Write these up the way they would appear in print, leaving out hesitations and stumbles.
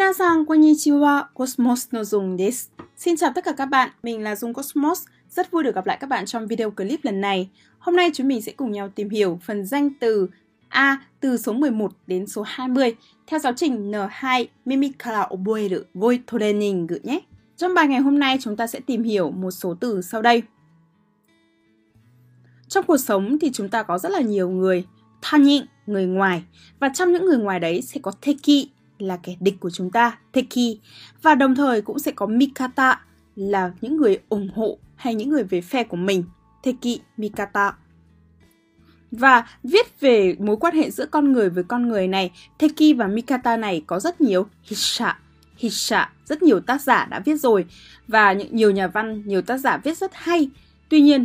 Minasan konnichiwa, Cosmos no Dung desu. Xin chào tất cả các bạn, mình là Dung Cosmos. Rất vui được gặp lại các bạn trong video clip lần này. Hôm nay chúng mình sẽ cùng nhau tìm hiểu phần danh từ A từ số 11 đến số 20 theo giáo trình N2 Mimikara Oboeru Goi Training nhé. Trong bài ngày hôm nay chúng ta sẽ tìm hiểu một số từ sau đây. Trong cuộc sống thì chúng ta có rất là nhiều người, tanin, người ngoài. Và trong những người ngoài đấy sẽ có teki, là kẻ địch của chúng ta, teki. Và đồng thời cũng sẽ có mikata, là những người ủng hộ hay những người về phe của mình, teki, mikata. Và viết về mối quan hệ giữa con người với con người này, teki và mikata này có rất nhiều hissha, rất nhiều tác giả đã viết rồi. Và nhiều nhà văn, nhiều tác giả viết rất hay. Tuy nhiên,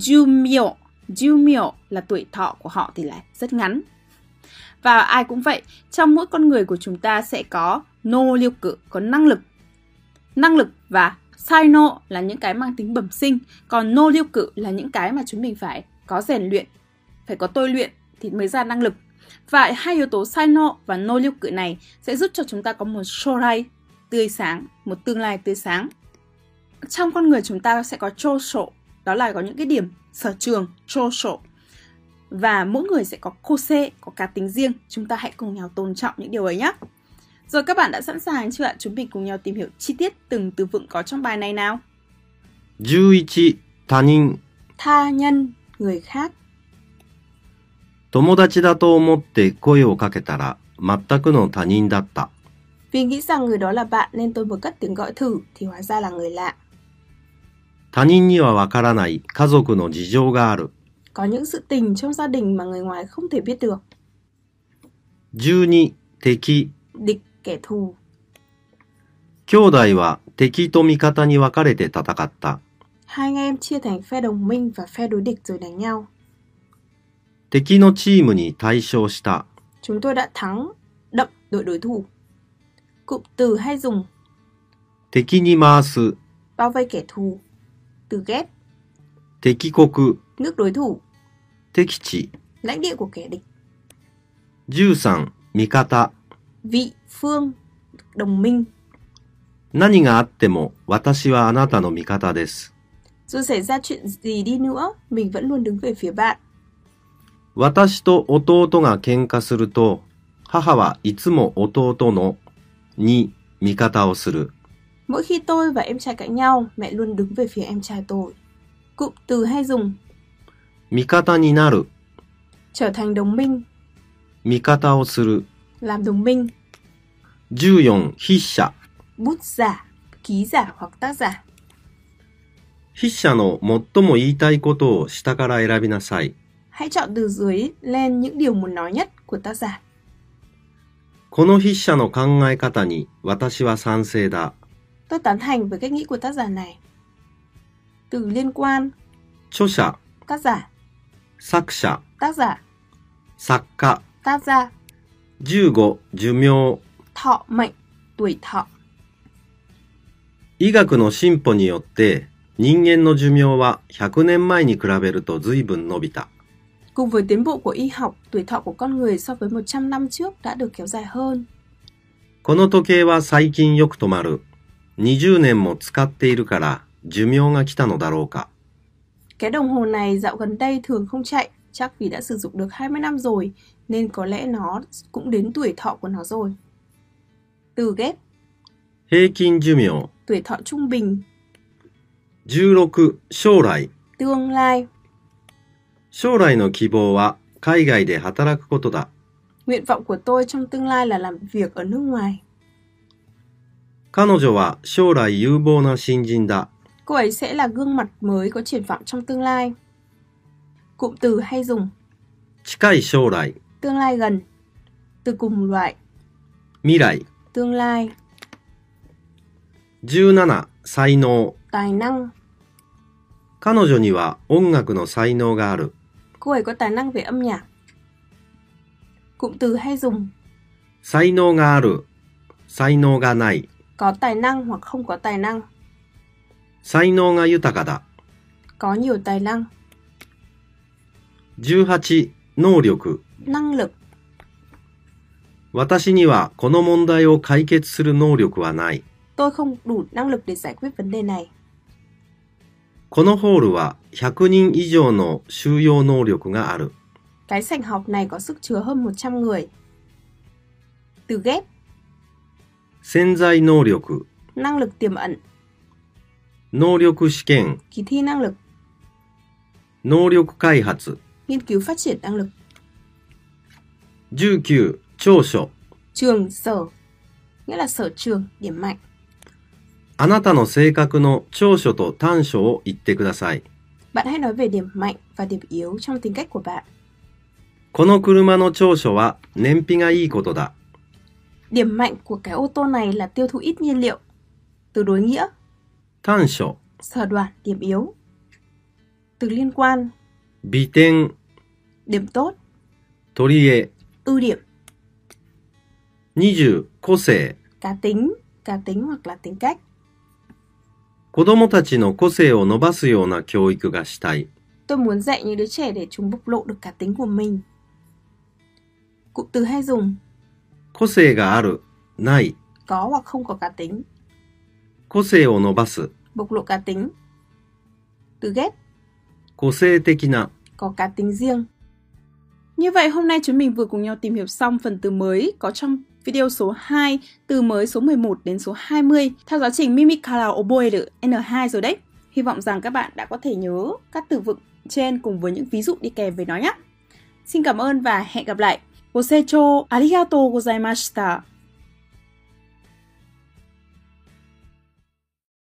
jumyo là tuổi thọ của họ thì lại rất ngắn. Và ai cũng vậy, trong mỗi con người của chúng ta sẽ có nōryoku, có năng lực và saino là những cái mang tính bẩm sinh, còn nōryoku là những cái mà chúng mình phải có rèn luyện, phải có tôi luyện thì mới ra năng lực. Và hai yếu tố saino và nōryoku này sẽ giúp cho chúng ta có một shorai tươi sáng, một tương lai tươi sáng. Trong con người chúng ta sẽ có chosho, đó là có những cái điểm sở trường, chosho. Và mỗi người sẽ có kose, có cá tính riêng. Chúng ta hãy cùng nhau tôn trọng những điều ấy nhé. Rồi các bạn đã sẵn sàng chưa ạ? Chúng mình cùng nhau tìm hiểu chi tiết từng từ vựng có trong bài này nào. 11. 他人 Tha nhân, người khác. 友達だと思って声をかけたら全くの他人だった。 Vì nghĩ rằng người đó là bạn nên tôi mới cất tiếng gọi thử thì hóa ra là người lạ. 他人にはわからない家族の事情がある。 Có những sự tình trong gia đình mà người ngoài không thể biết được. 12. 敵 Địch, kẻ thù. 兄弟は敵と味方に分かれて戦った。 Hai anh em chia thành phe đồng minh và phe đối địch rồi đánh nhau. 敵のチームに大勝した。 Chúng tôi đã thắng đậm đội đối thủ. Cụm từ hay dùng 敵に回す bao vây kẻ thù. Từ ghép 敵国 nước đối thủ, 敵地 lãnh địa của kẻ địch. 13. 味方 Vị, phương, đồng minh. 何があっても私はあなたの味方です。 Dù xảy ra chuyện gì đi nữa, mình vẫn luôn đứng về phía bạn. 私と弟が喧嘩すると、母はいつも弟のに味方をする。 Mỗi khi tôi và em trai cãi nhau, mẹ luôn đứng về phía em trai tôi. Cụm từ hay dùng 味方になる trở thành đồng minh, 味方をする。 làm đồng minh. 14. 筆者 Bút giả, ký giả hoặc tác giả. 筆者の最も言いたいことを下から選びなさい。 Hãy chọn từ dưới lên những điều muốn nói nhất của tác giả. この筆者の考え方に私は賛成だ。 Tôi tán thành với cách nghĩ của tác giả này. Từ liên quan 著者 tác giả, 作者 tác giả, 作家 tác gia. 15. 寿命 Thọ mệnh, tuổi thọ. 医学の進歩によって人間の寿命は100年前に比べると随分伸びた。 Cùng với tiến bộ của y học, tuổi thọ của con người so với 100 năm trước đã được kéo dài hơn. この時計は最近よく止まる。20年も使っているから寿命が来たのだろうか。 Cái đồng hồ này dạo gần đây thường không chạy, chắc vì đã sử dụng được 20 năm rồi, nên có lẽ nó cũng đến tuổi thọ của nó rồi. Từ ghép 平均寿命 tuổi thọ trung bình, 16. 将来 tương lai. 将来の希望は海外で働くことだ。 Nguyện vọng của tôi trong tương lai là làm việc ở nước ngoài. 彼女は将来有望な新人だ。 Cô ấy sẽ là gương mặt mới có triển vọng trong tương lai. Cụm từ hay dùng 近い将来 tương lai gần, từ cùng loại, 未来 tương lai. 17. 才能 Tài năng. 彼女には音楽の才能がある。 Cô ấy có tài năng về âm nhạc. Cụm từ hay dùng 才能がある、才能がない。 có tài năng hoặc không có tài năng. 才能が豊かだ。 Có nhiều tài năng. 18. 能力 Năng lực. 私にはこの問題を解決する能力はない。 Tôi không đủ năng lực để giải quyết vấn đề này. このホールは100人以上の収容能力がある。 Cái sảnh họp này có sức chứa hơn 100 người. Từ ghép. 潜在能力、 Năng lực tiềm ẩn. 能力試験、 Kỳ thi năng lực. 能力開発。 Nghiên cứu phát triển năng lực. 19、長所。 Trường sở. Nghĩa là sở trường, điểm mạnh. あなたの性格の長所と短所を言ってください。 Bạn hãy nói về điểm mạnh và điểm yếu trong tính cách của bạn. この車の長所は燃費がいいことだ。 Điểm mạnh của cái ô tô này là tiêu thụ ít nhiên liệu. Từ đối nghĩa. 短所、 Sở đoản, điểm yếu. Từ liên quan. 美点、 Điểm tốt. 取り柄。 Ưu điểm. 20、個性。 Cá tính hoặc là tính cách. 子供たちの個性を伸ばすような教育がしたい。 Tôi muốn dạy những đứa trẻ để chúng bộc lộ được cá tính của mình. Cụm từ hay dùng. 個性がある、ない。 Có hoặc không có cá tính. 個性を伸ばす。 Bộc lộ cá tính. Từ ghép. 個性的な。 Có cá tính riêng. Như vậy hôm nay chúng mình vừa cùng nhau tìm hiểu xong phần từ mới có trong video số 2, từ mới số 11 đến số 20 theo giáo trình Mimikara Oboeru N2 rồi đấy. Hy vọng rằng các bạn đã có thể nhớ các từ vựng trên cùng với những ví dụ đi kèm với nó nhé. Xin cảm ơn và hẹn gặp lại. Gosecho arigatou gozaimashita.